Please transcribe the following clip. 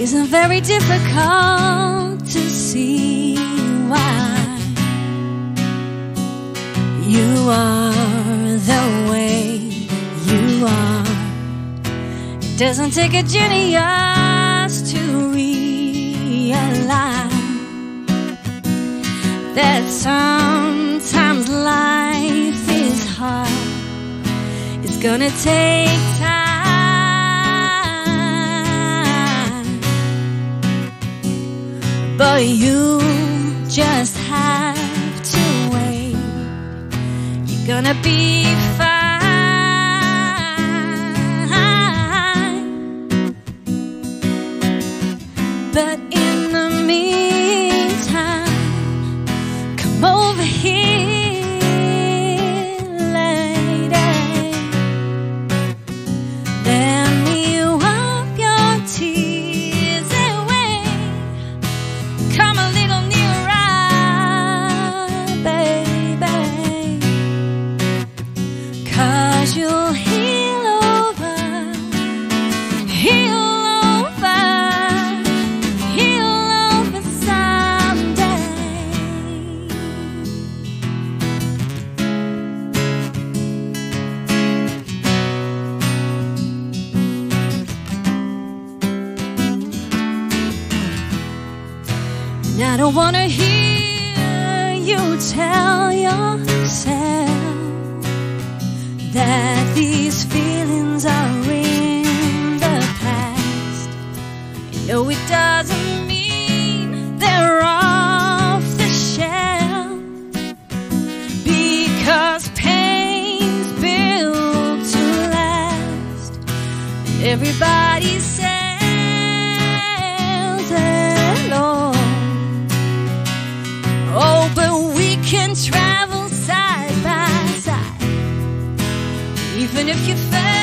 isn't very difficult to see why you are the way you are. It doesn't take a genius to realize that sometimes life is hard. It's gonna take time, but you just have to wait. You're gonna be fine. But in the meantime, come over here, lady. Let me wipe your tears away. Come a little nearer, baby, 'cause you'll heal over, heal over, heal over someday. And I don't wanna hear you tell yourself that these feelings are in the past. You know it doesn't mean they're off the shelf, because pain's built to last. Everybody sails alone. Oh, but we can travel side by side, even if you fail.